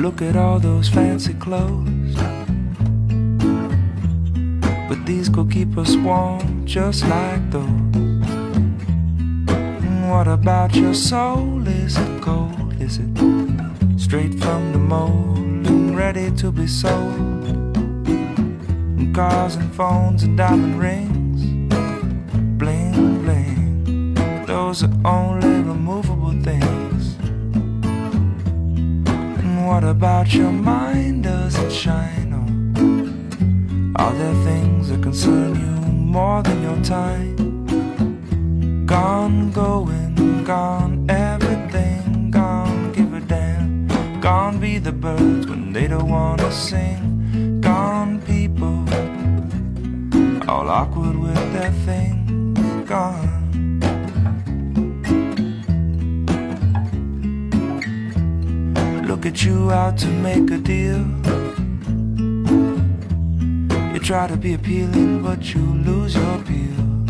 Look at all those fancy clothes, but these could keep us warm just like those. What about your soul? Is it cold? Is it straight from the mold and ready to be sold? And cars and phones and diamond rings, bling bling, those are only removable things. And what about your mind? Does it shine on? Are there things that concern you more than your time? Gone, going, gone, everything gone, give a damn. Gone be the birds when they don't wanna sing. Gone people, all awkward with their things. Gone. Look at you out to make a deal. You try to be appealing but you lose your appeal.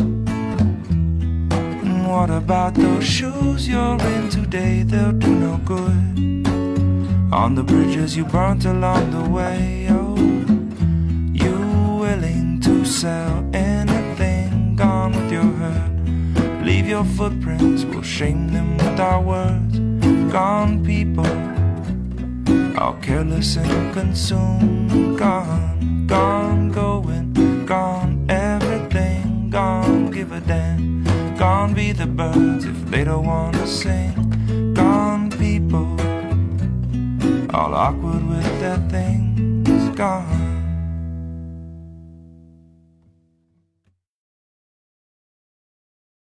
What about those shoes you're in today? They'll do no good on the bridges you burnt along the way. Oh, you willing to sell anything? Gone with your hurt. Leave your footprints, we'll shame them with our words. Gone people, all careless and consumed. Gone, gone, going, gone, everything gone, give a damn. Gone be the birds if they don't wanna sing. Gone people, all awkward with their things. Gone.